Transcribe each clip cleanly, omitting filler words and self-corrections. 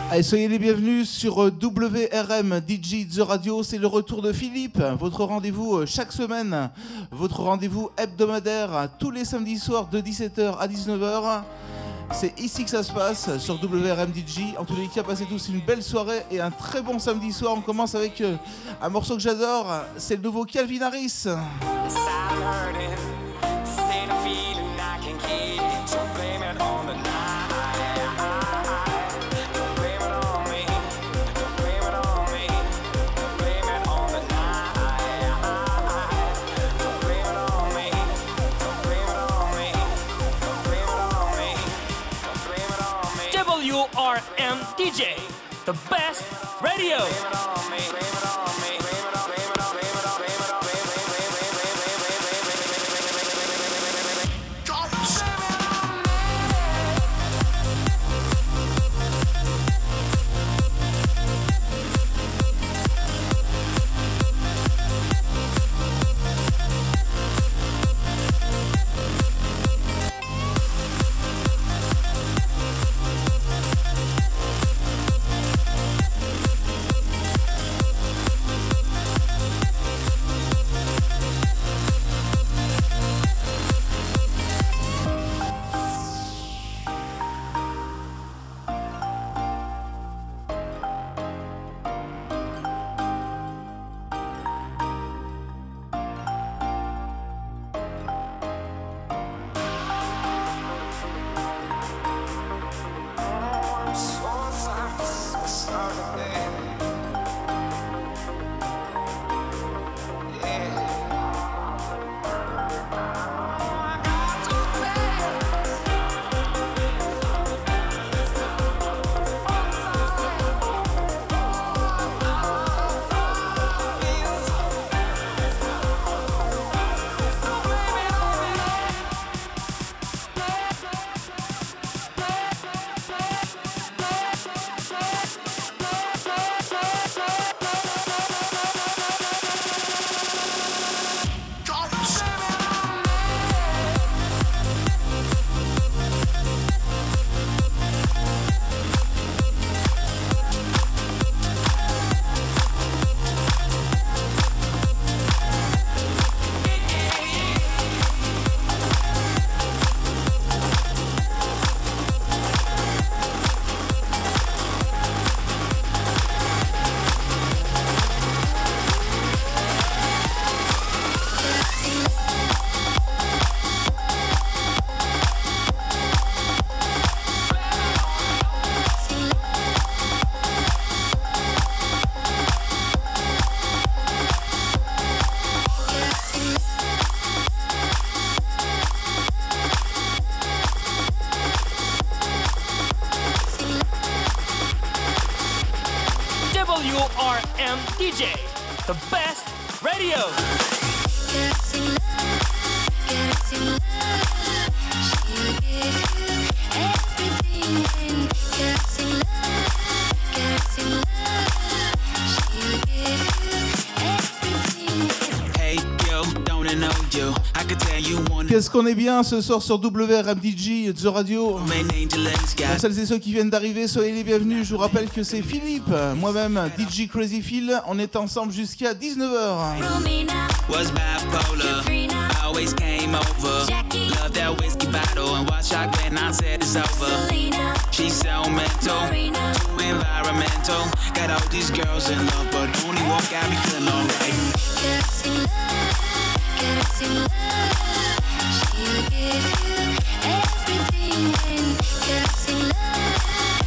Allez, soyez les bienvenus sur WRM DJ The Radio, c'est le retour de Philippe, votre rendez-vous chaque semaine, votre rendez-vous hebdomadaire tous les samedis soirs de 17h à 19h. C'est ici que ça se passe, sur WRM DJ. En tous les cas, passez tous une belle soirée et un très bon samedi soir. On commence avec un morceau que j'adore, c'est le nouveau Calvin Harris. WRM DJ, the best radio. WRM DJ, the best radio. Qu'est-ce qu'on est bien ce soir sur WRM DJ The Radio. Pour celles et ceux qui viennent d'arriver, soyez les bienvenus. Je vous rappelle que c'est Philippe, moi-même DJ Crazy Phil. On est ensemble jusqu'à 19h. Was bipolar, always came over. Love that whiskey bottle and watch out when I said it's over. She's so mental, too environmental. Got all these girls in love, but only one got me feeling alright. Girls in love, she'll give you everything. And girls in love,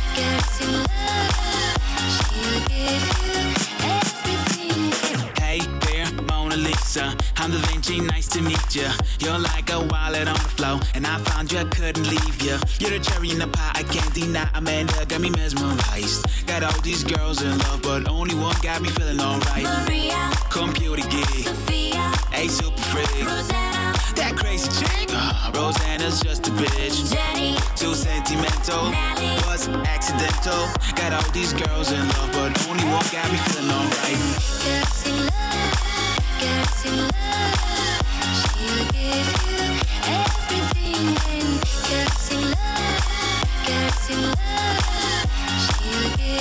she'll give you everything. Hey there, Mona Lisa, I'm Da Vinci, nice to meet ya. You're like a wallet on the floor, and I found you, I couldn't leave ya. You're the cherry in the pie, I can't deny. Amanda got me mesmerized. Got all these girls in love, but only one got me feeling alright. Maria, computer geek, Sophia, a super freak, Rosanna, that crazy chick. Rosanna's just a bitch. Jenny, too sentimental. Nelly, was accidental. Got all these girls in love, but only one got me feeling alright. Girls in love, girls in love. She'll give you everything. And girls in love, she'll give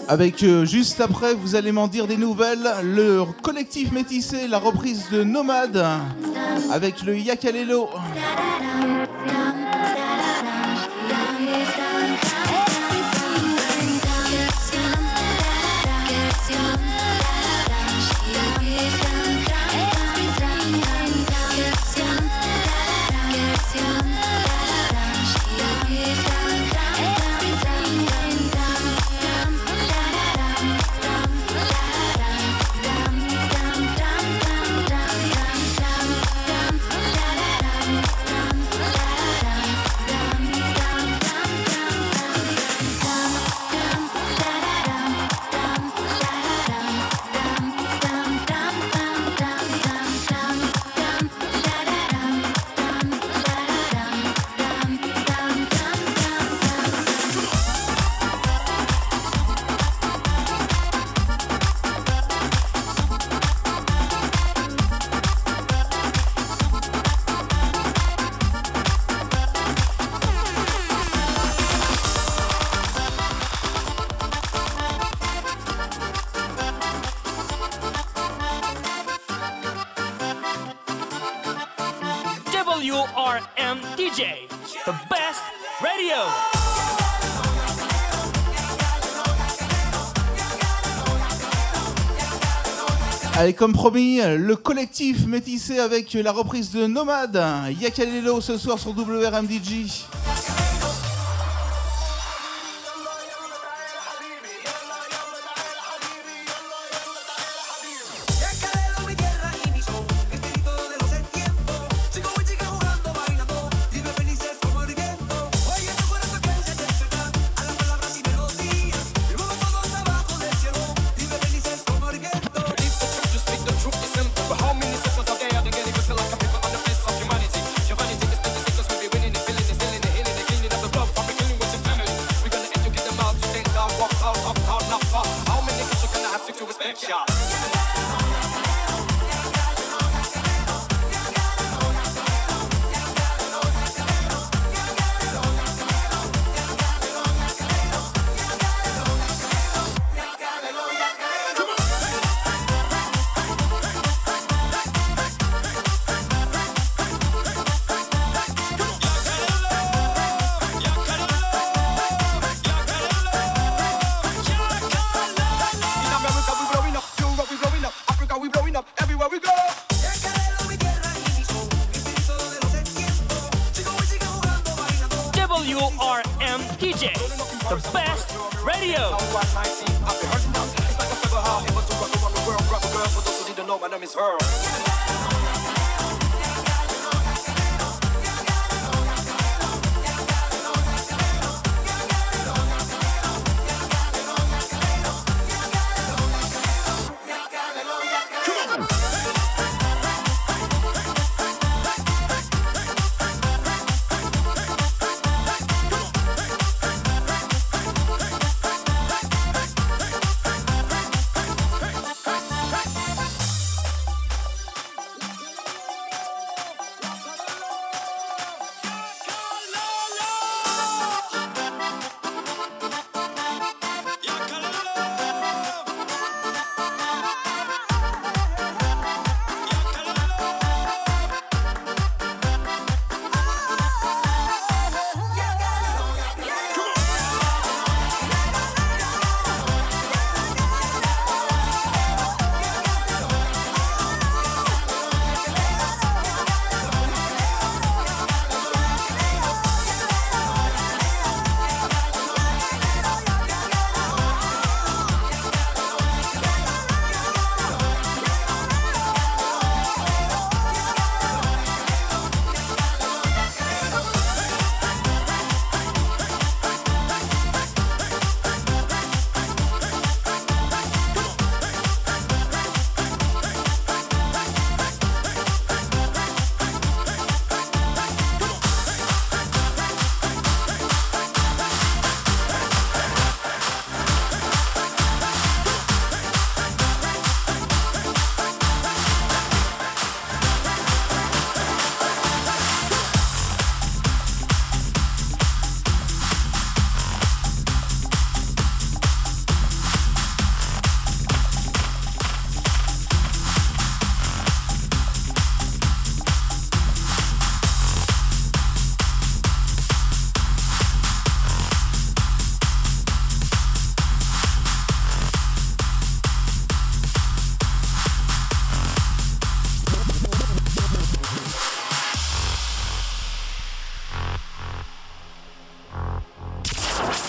Avec juste après, vous allez m'en dire des nouvelles, le collectif métissé, la reprise de Nomade, avec le Yakalelo. WRM DJ, the best radio. Allez, comme promis, le collectif métissé avec la reprise de Nomade, Yakalelo ce soir sur WRM DJ. WRM DJ, the best radio.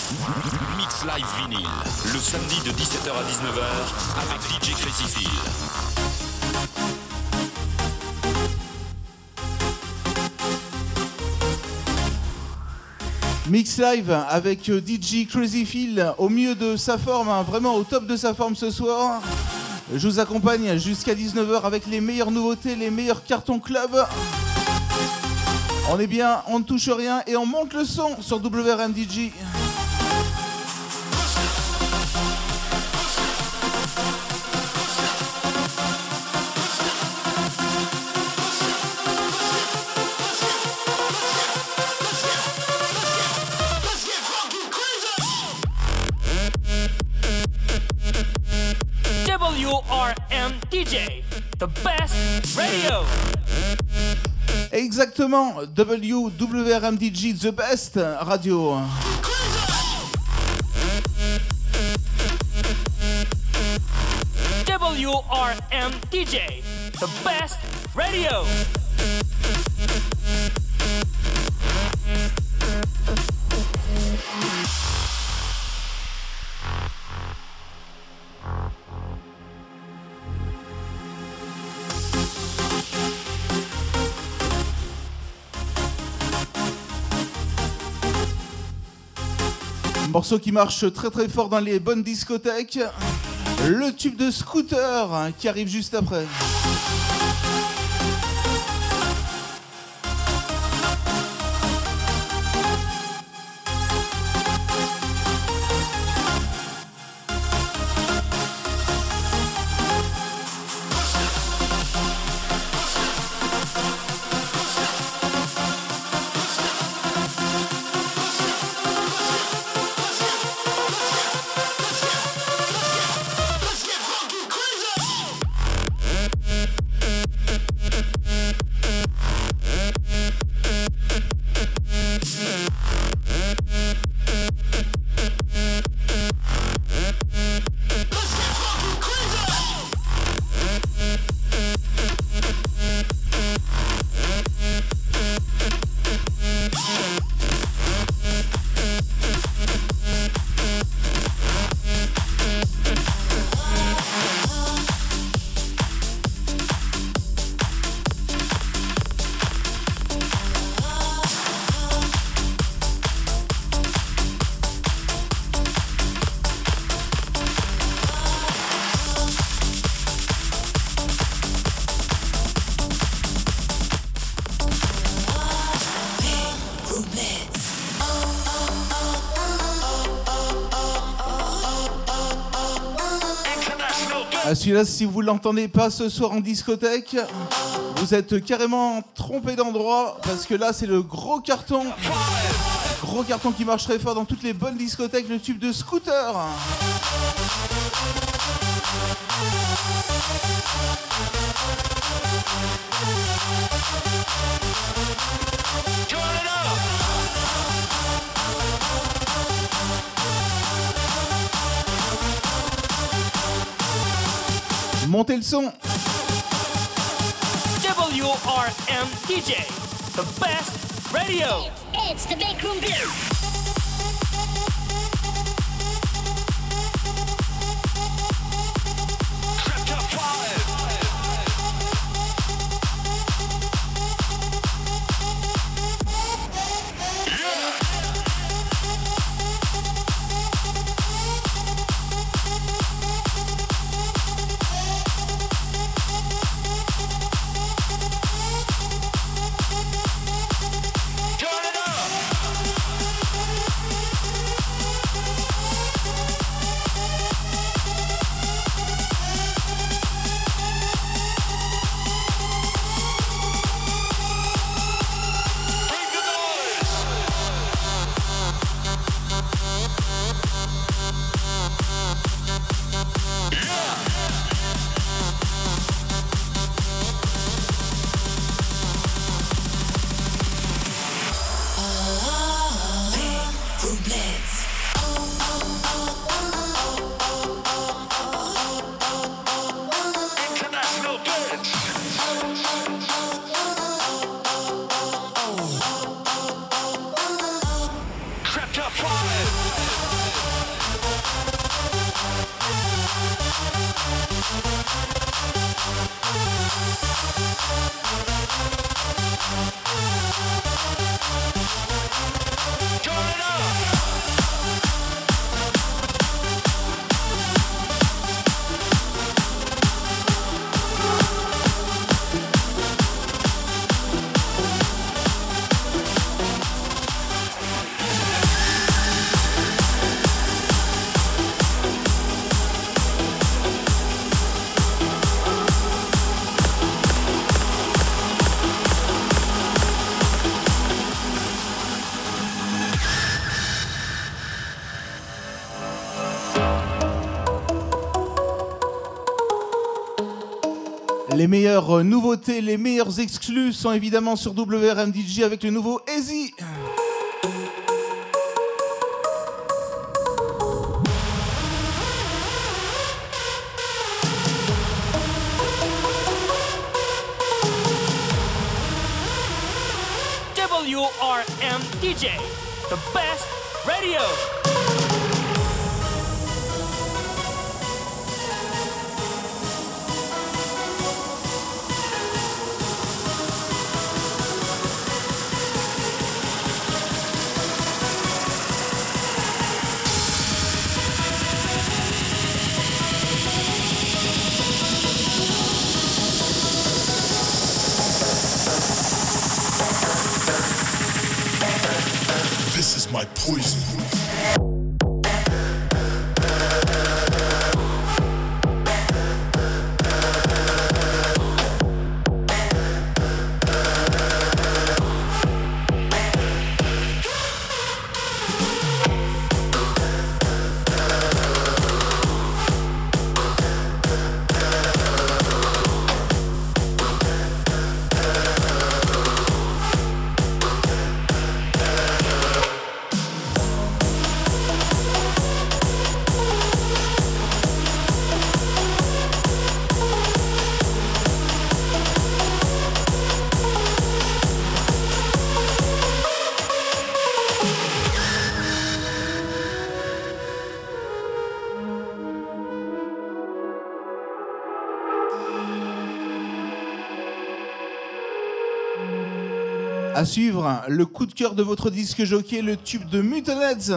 Mix Live Vinyl, le samedi de 17h à 19h avec DJ Crazy Phil. Mix Live avec DJ Crazy Phil au mieux de sa forme, hein, vraiment au top de sa forme ce soir. Je vous accompagne jusqu'à 19h avec les meilleures nouveautés, les meilleurs cartons club. On est bien, on ne touche rien et on monte le son sur WRM DJ. WRM DJ, the best radio. Exactement, WRM DJ, the best radio. WRM DJ, the best radio. Morceau qui marche très très fort dans les bonnes discothèques. Le tube de Scooter hein, qui arrive juste après. Celui-là, si vous l'entendez pas ce soir en discothèque, vous êtes carrément trompé d'endroit parce que là, c'est le gros carton. Gros carton qui marche très fort dans toutes les bonnes discothèques, le tube de Scooter. Montez le son. WRM DJ, the best radio. It's the Big Room Beer. Les meilleures nouveautés, les meilleurs exclus sont évidemment sur WRM DJ avec le nouveau Easy. WRM DJ, the best radio. This is my poison. À suivre, le coup de cœur de votre disque jockey, le tube de Muttonheads.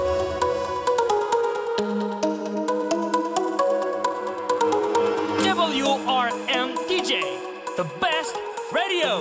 WRM DJ, the best radio.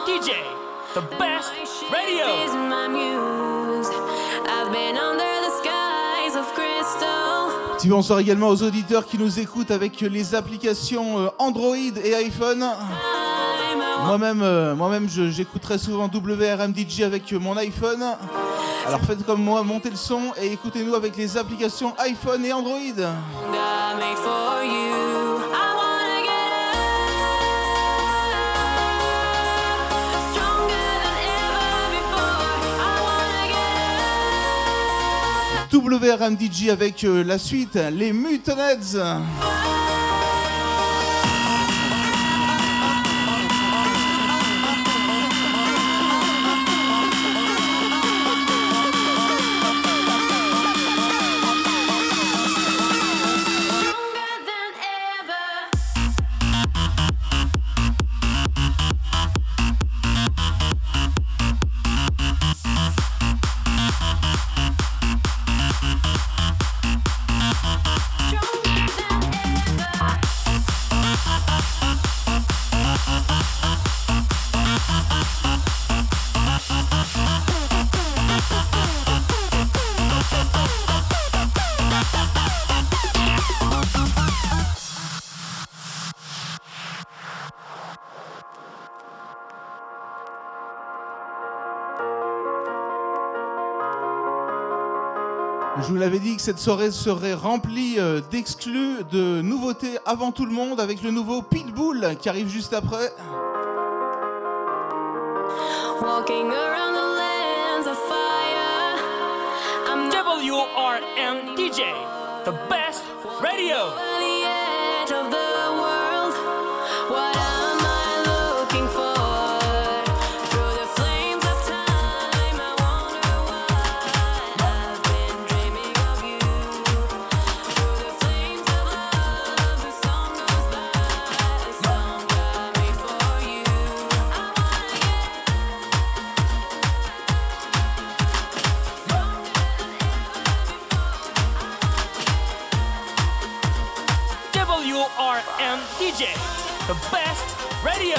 DJ, the best radio. Is my muse. I've been under the skies of crystal. Petit bonsoir également aux auditeurs qui nous écoutent avec les applications Android et iPhone. Moi-même, j'écoute très souvent WRM DJ avec mon iPhone. Alors faites comme moi, montez le son et écoutez-nous avec les applications iPhone et Android. WRM DJ avec la suite, les Mutants. Je vous l'avais dit que cette soirée serait remplie d'exclus, de nouveautés avant tout le monde, avec le nouveau Pitbull qui arrive juste après. Walking around the lands of fire. I'm WRM DJ, the best radio. on the edge of the world. What am I looking for? Through the flames of time, I wonder why I've been dreaming of you. Through the flames of love, the song goes by. The song got me for you. I wanna get WRM DJ, the best radio.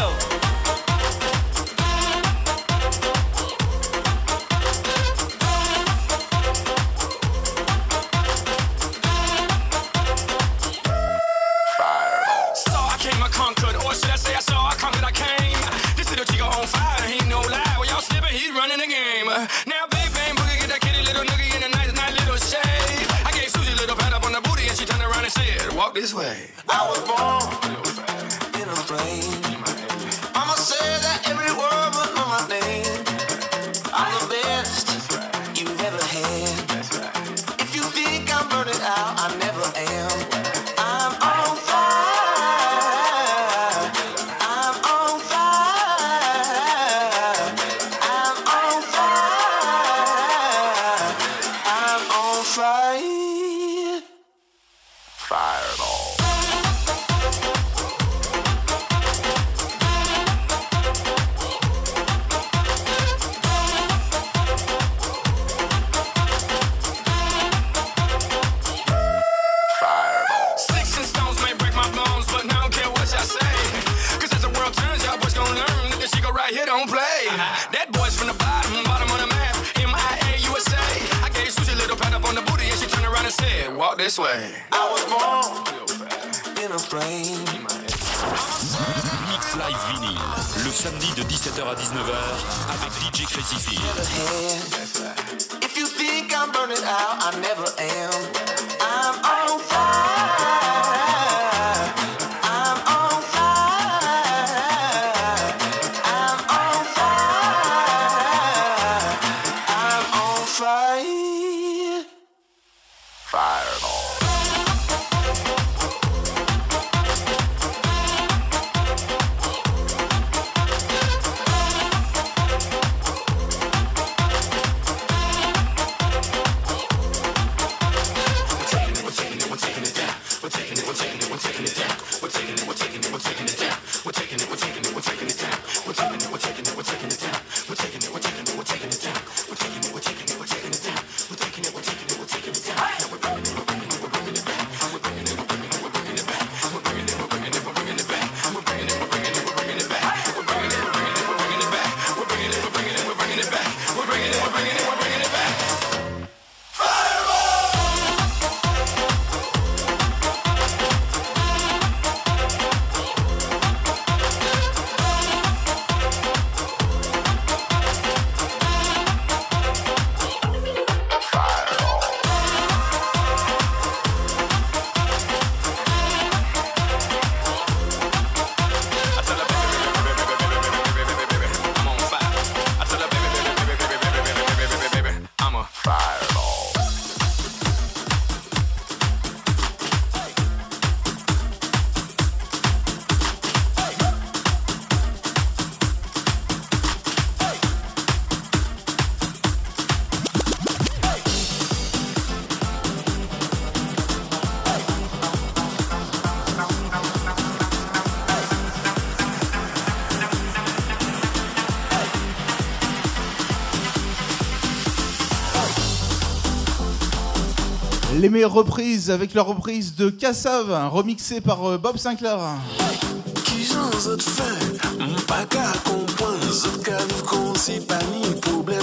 Saw I came, I conquered, or should I say I saw I conquered, I came. This little chico on fire, he ain't no lie. Well, y'all slipping, he's running the game. Now, big bang boogie, get that kitty little noogie in a nice little shade. I gave Susie a little pat up on the booty, and she turned around and said, walk this way. I was born in a plane. Mama said that every word was on my name. I'm the best you've ever had. If you think I'm burning out, I never am. I'm on fire. I'm on fire. I'm on fire. I'm on fire. Fireball. Sticks and stones may break my bones, but I don't care what y'all say. Cause as the world turns, y'all boys gon' learn that this chico right here don't play. That boy's from the bottom of the map, MIA, USA. I gave Susie a little pat up on the booty, and she turned around and said, walk this way. I was born in a plane. Mix Live Vinyl, le samedi de 17h à 19h avec DJ Crazy Phil. If you think I'm burning out, I never am. I'm on fire. I'm on fire. I'm on fire. I'm on fire. Fireball. Les meilleures reprises avec la reprise de Kassav, remixée par Bob Sinclair. Qui j'en zot fait, pas qu'à comprendre, zot qu'à vivre comme si pas ni problème.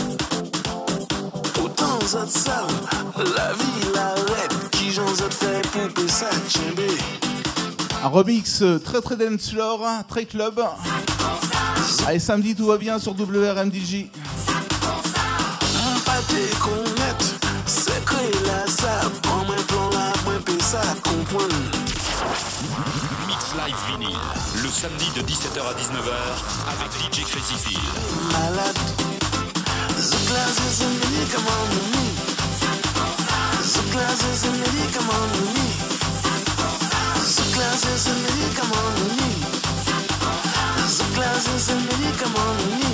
Autant zot savent, la vie l'arrête, qui j'en zot fait pour payer ça tchembé. Un remix très dance floor, très club. Allez, samedi tout va bien sur WRMDJ. Pas te connaître, c'est que là ça, prends mon plan là, moi payer ça comprendre. Mix Live Vinyl, le samedi de 17h à 19h avec DJ Crazy Phil. Malade, the class is a médicament de me. The class is a médicament de me. The class is a médicament de me. The class is a médicament de me.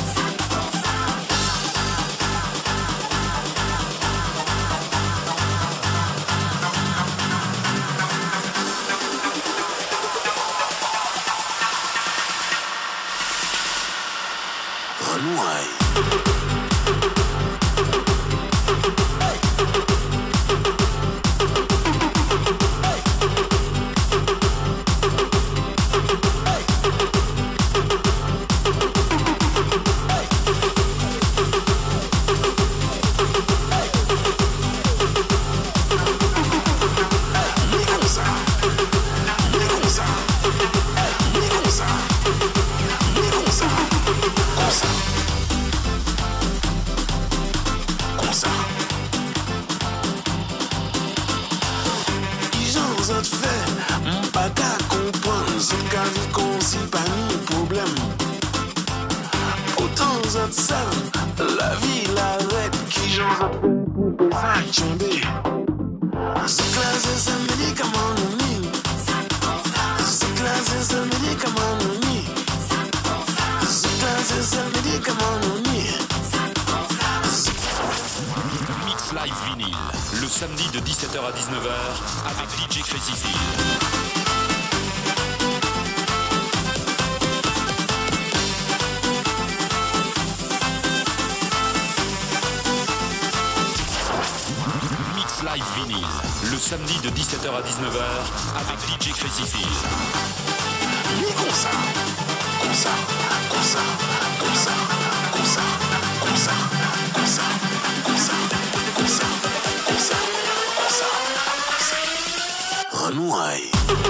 La vie l'arrête, qui j'en ai pour payer ça tchembé. The class is a médicament de me. The class is a médicament de me. The class is a médicament de me. Mix Live Vinyl, le samedi de 17h à 19h avec DJ Crazy Phil. Live Vinyl, le samedi de 17h à 19h avec DJ Crazy Phil. Comme ça, comme ça, comme ça, comme ça, comme ça, comme ça, comme ça, comme ça, comme ça, comme ça, comme ça, renouaille.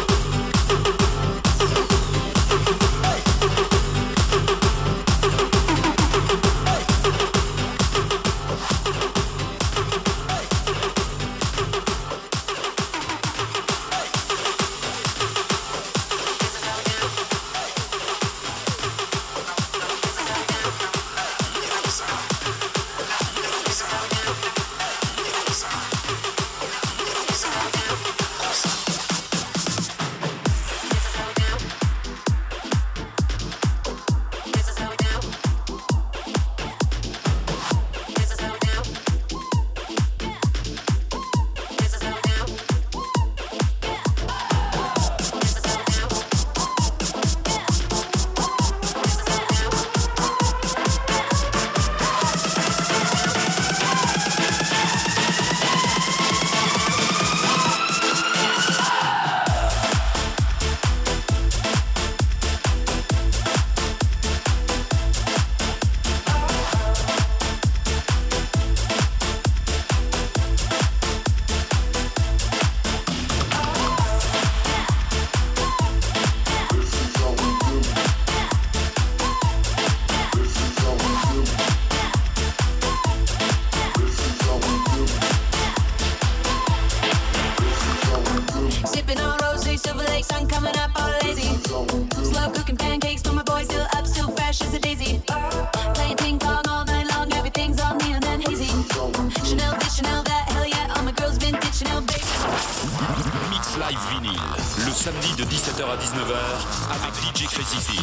samedi de 17h à 19h avec DJ Crazy Phil.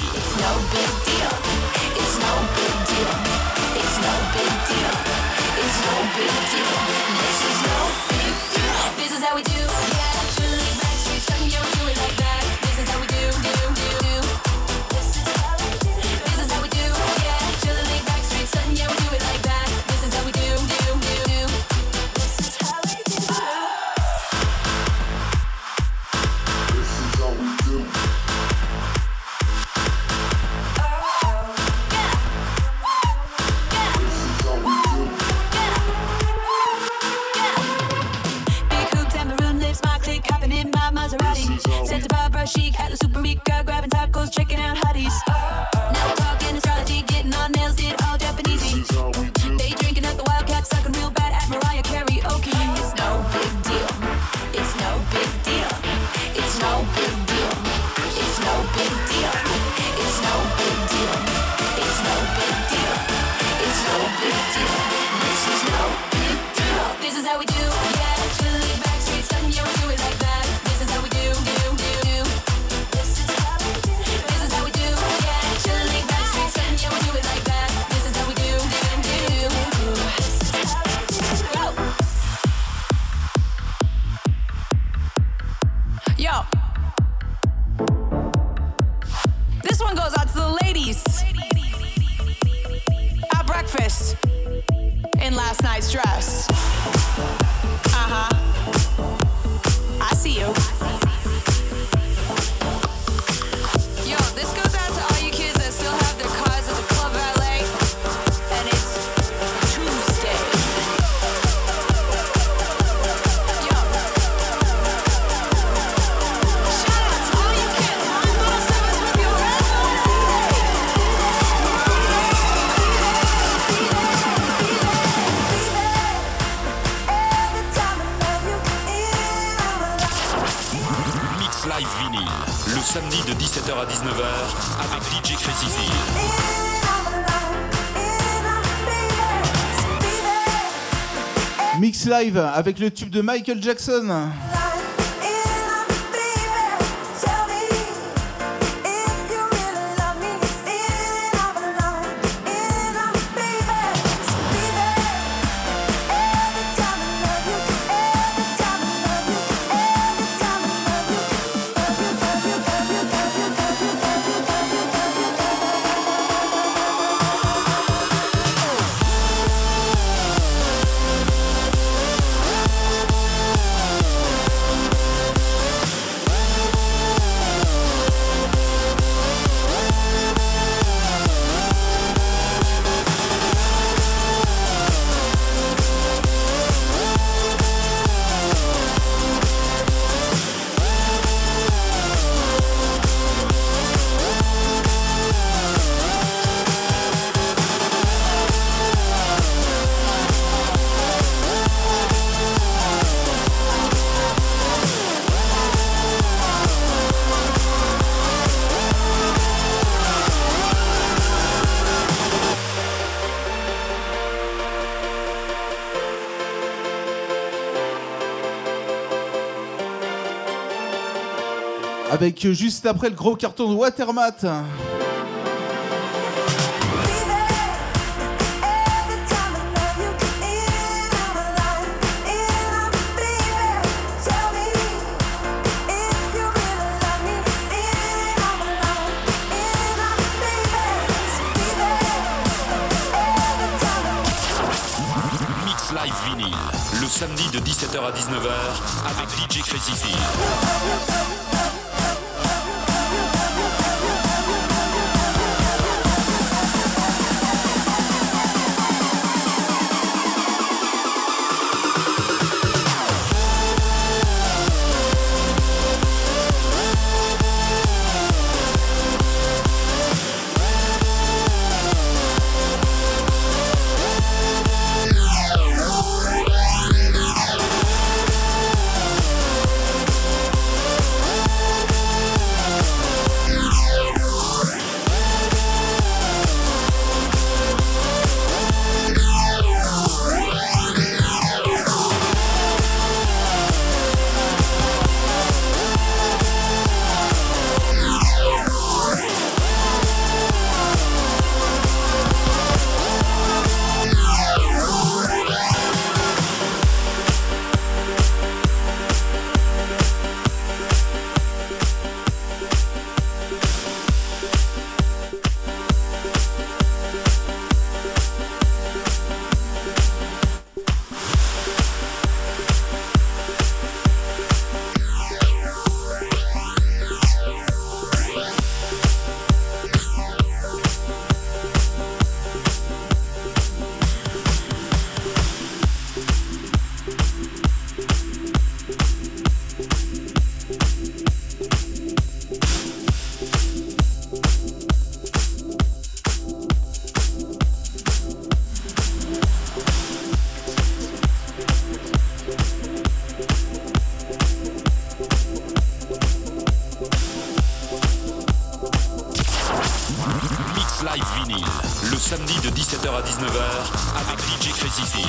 This is how we do. Yeah, Julie Backstreet, son, yo, do it like that. This is how we do. This is how we do. This is how we do. Yeah, Julie Backstreet, son, yo, do it like that. This is how we do. This is how we do. chic at the Supermica, grabbing tacos, checking out hotties. Now talking astrology, getting our nails did all Japanesey. They drinking at the Wildcat, sucking real bad at Mariah Carey. Okay, it's no big deal. It's no big deal. It's no big deal. It's no big deal. It's no big deal. It's no big deal. It's no big deal. This is no big deal. This is how we do. Yeah, chilly backstreet, son, yeah, we do it like that. This is how we do. This is how we do. This is how we do. Yeah, chilly backstreet, son, yeah, we do it like that. This is how we do. Go. Yo. This one goes out to the ladies at breakfast in last night's dress. I see you. Yo, this goes out to all you kids that still have their cars at the Club Valet, and it's Tuesday. Yo. Shout out to all you kids. I'm gonna service with you. Mix Live Vinyl, le samedi de 17h à 19h avec DJ Crazy Phil. Mix Live avec le tube de Michael Jackson. Avec juste après le gros carton de Watermat. Mix Live Vinyl, le samedi de 17h à 19h avec DJ Crazy Phil. Mix Live Vinyl, le samedi de 17h à 19h avec DJ Crazy Phil.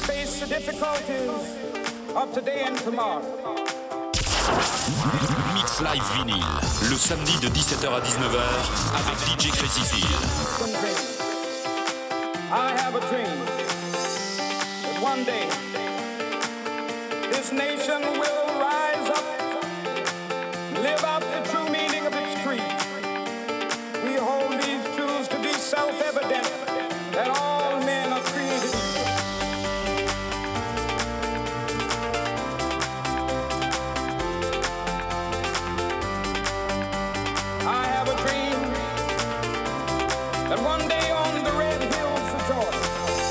of today and tomorrow. Mix Mix Live Vinyl, le samedi de 17h à 19h avec DJ Crazy Phil. I have a dream that one day this nation will rise up, live out the true meaning of its creed. We hold these truths to be self-evident that all men are created equal. I have a dream that one day on the red hills of Georgia,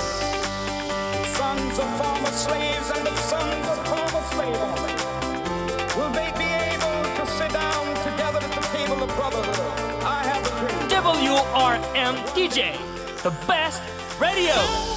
sons of former slaves and the sons of former slave owners will they be able to sit down together at the table of brotherhood. I have a dream. WRM DJ, the best radio.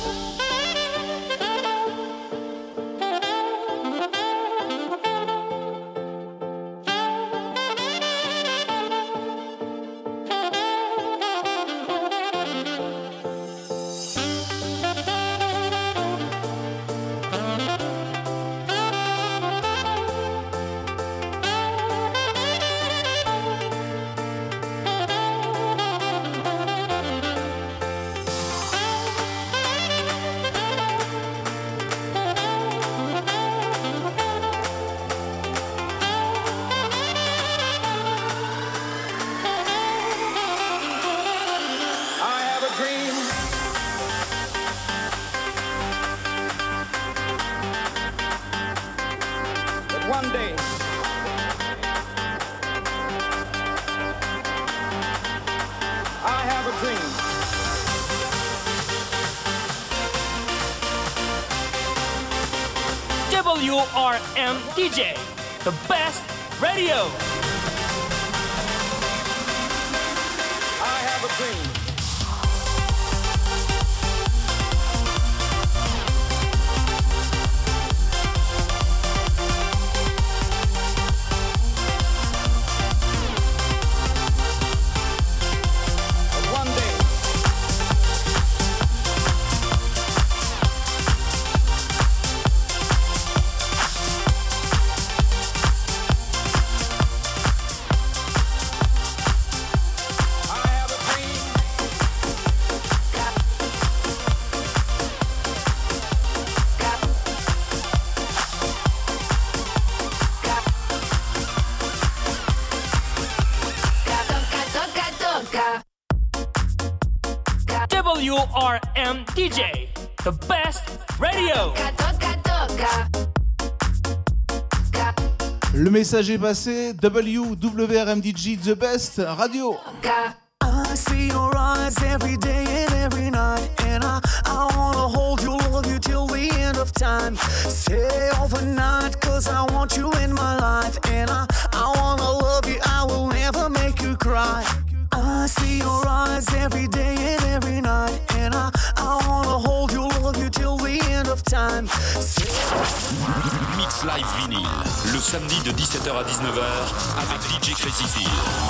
One day, I have a dream. WRM DJ, the best radio. I have a dream. WRM DJ, the best radio. Le message est passé. WRM DJ, the best radio. I see your eyes every day and every night, and I wanna hold you, love you till the end of time. Stay overnight, cause I want you in my life, and I wanna love you, I will never make you cry. I see your eyes every day and every night, and I wanna hold you, love you till the end of time. Mix Live Vinyl, le samedi de 17h à 19h avec DJ Crazy Phil.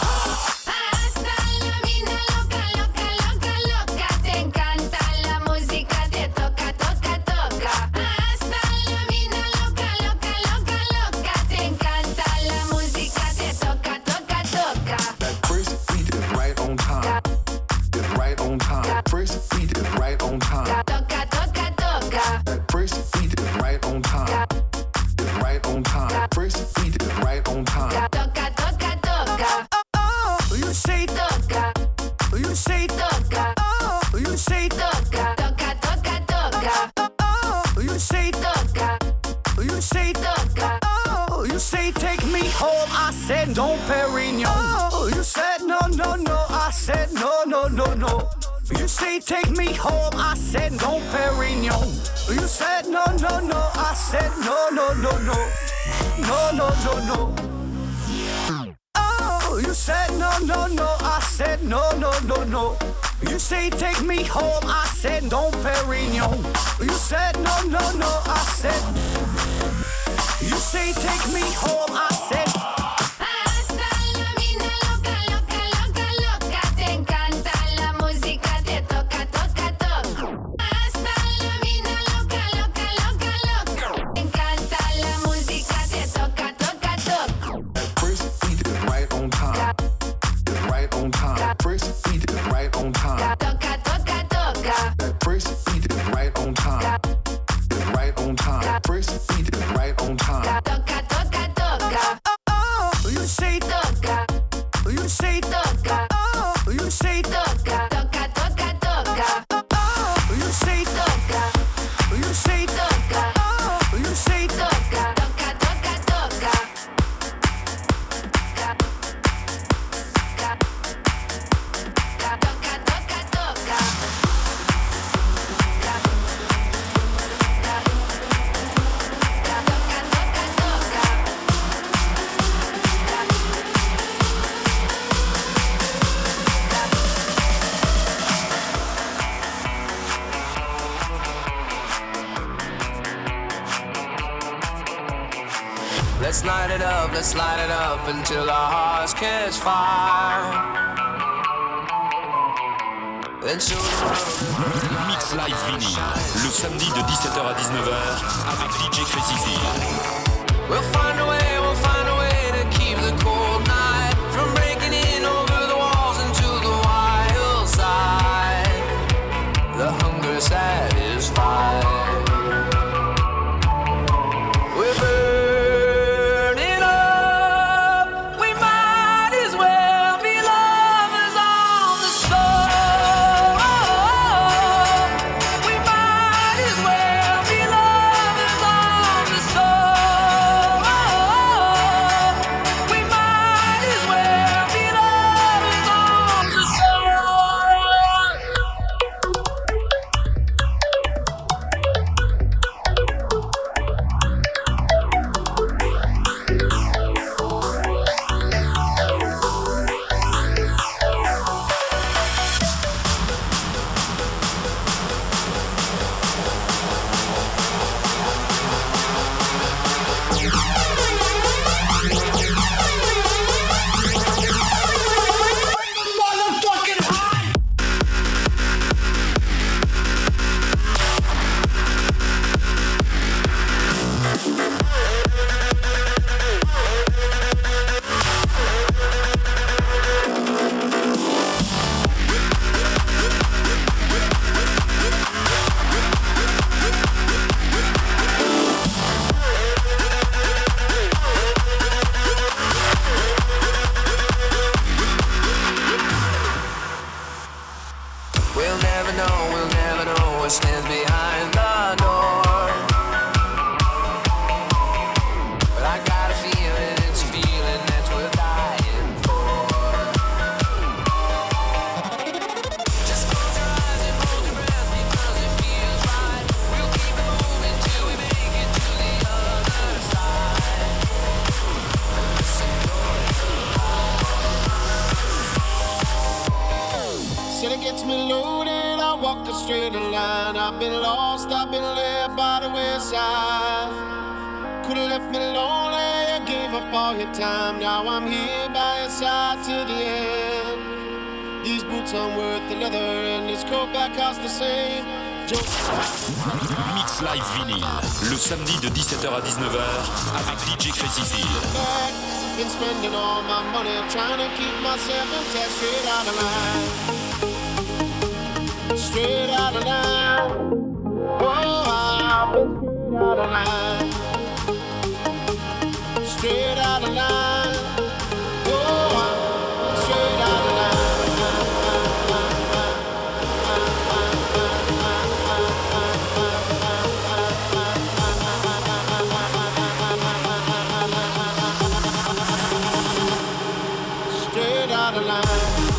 Don't Perignon. Oh, you said no, no, no. I said no, no, no, no. You say take me home. I said don't Perignon. You said no, no, no. I said no, no, no, no. No, no, no, no. Oh, you said no, no, no. I said no, no, no, no. You say take me home. I said don't Perignon. You said no, no, no. I said. You say take me home. I said. right on time. Right on time. First beat is right on time. That first beat is right on time. Right on time. First beat is right on time. You say toca. You say toca. You say toca. Toca, toca, toca. You say toca. You say toca. You say toca. Toca, toca, toca. Toca, toca, toca. Let's light it up until our hearts catch fire. Then show the world. Mix Live Vinyl, le samedi de 17h à 19h avec DJ Crazy Phil. We'll find a way to keep the cold night from breaking in over the walls into the wild side. The hunger satisfied. We're burning up. We might as well be lovers on the soul. We might as well be lovers on the soul. We might as well be lovers on the soul. We'll never know what stands behind the door. But I got a feeling, it's a feeling that's worth dying for. Just close your eyes and hold your breath because it feels right. We'll keep it moving till we make it to the other side. Listen, Said it gets me loaded, I walk a straight line. I've been lost, I've been led by the wayside. Could've left me lonely, you gave up all your time. Now I'm here by your side to the end. These boots aren't worth the leather and this coat back costs the same. Mix Live Vinyl, le samedi de 17h à 19h avec DJ Crazy Phil. Been spending all my money trying to keep myself intact, straight out of line. Straight out of line. Oh, I've been straight out of line. Straight out of line. Oh, I'm straight out of line. Straight out of line.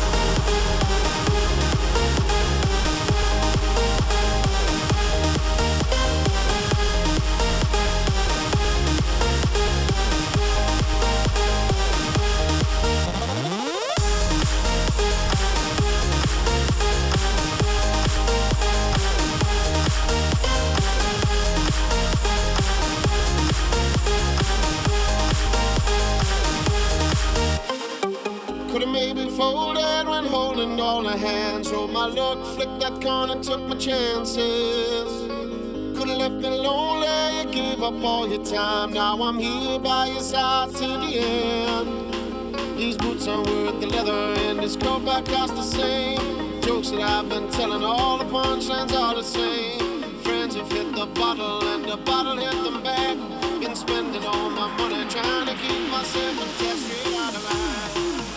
Could've maybe folded when holding all the hands. Rolled my luck, flicked that corner, took my chances. Could've left me lonely, you gave up all your time. Now I'm here by your side to the end. These boots aren't worth the leather, and this coat back costs the same. Jokes that I've been telling, all the punchlines are the same. Friends have hit the bottle, and the bottle hit them back. Been spending all my money trying to keep myself attached. Straight out of line.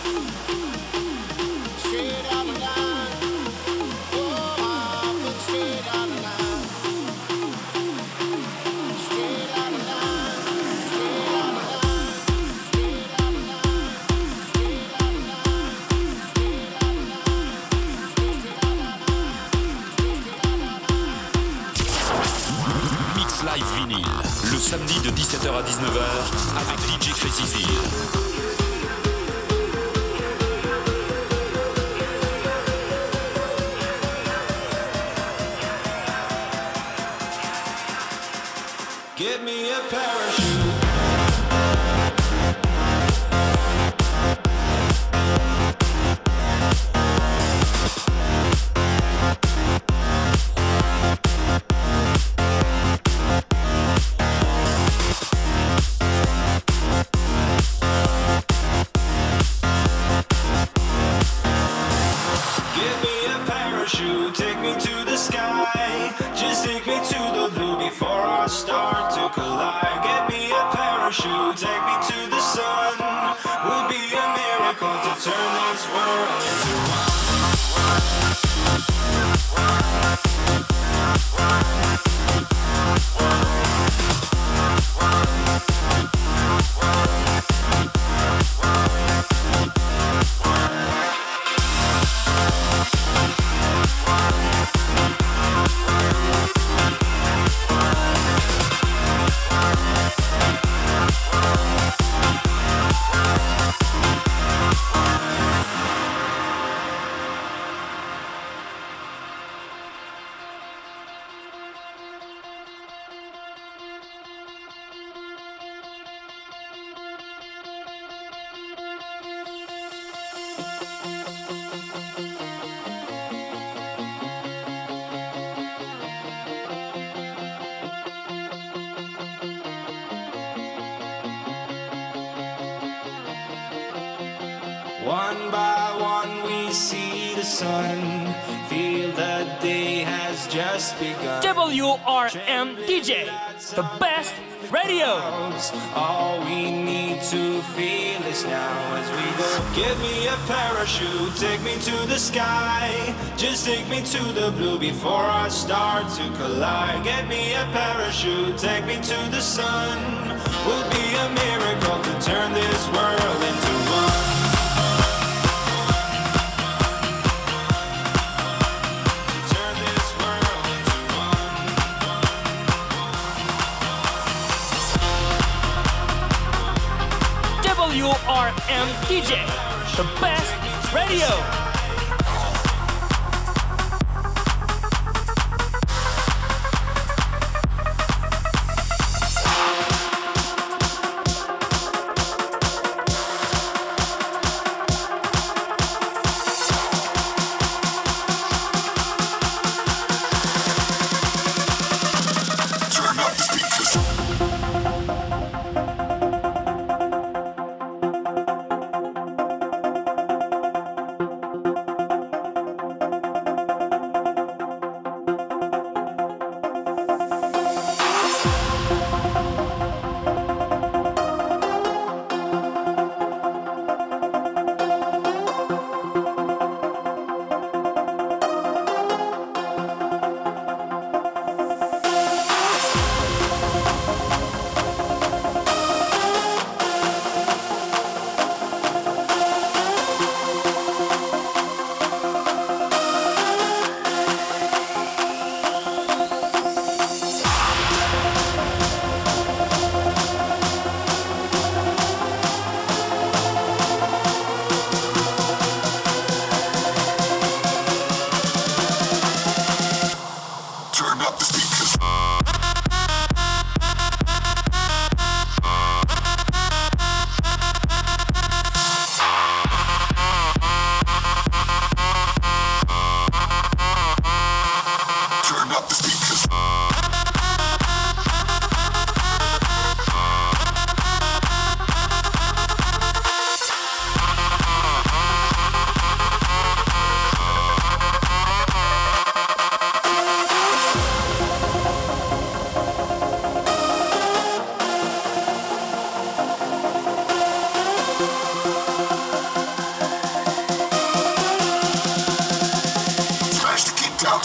Straight out of line. Oh, I've been straight out of line. Straight out of line. Straight out of line. Straight out of line. Straight out of line. Straight out of line. Mix Live Vinyl, le samedi de 17h à 19h avec DJ Crazy Phil. Get me a parachute. Get me a parachute, take me to the sky. Just take me to the blue before I start to collide. Get me a parachute, take me to the sun. Would be a miracle to turn this world into one by one we see the sun. Feel the day has just begun. WRM DJ, the best radio. All we need to feel is now as we go. Get me a parachute, take me to the sky. Just take me to the blue before I start to collide. Get me a parachute, take me to the sun. Would be a miracle to turn this world into one. WRM DJ, the best radio.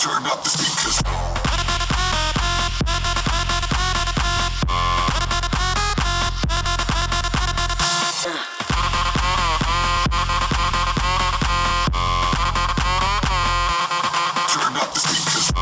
turn up the speakers. Turn up the speakers.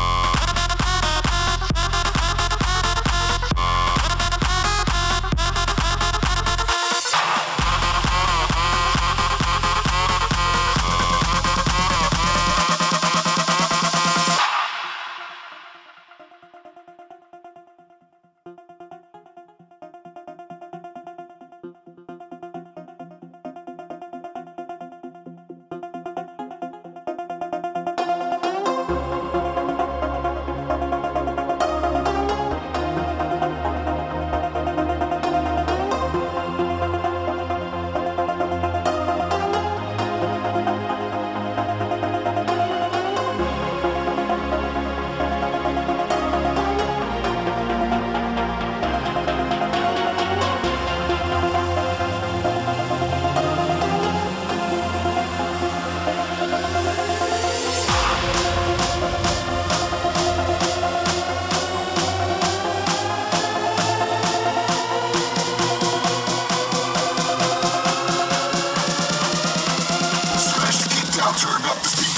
Smash the kick down, turn up the speakers.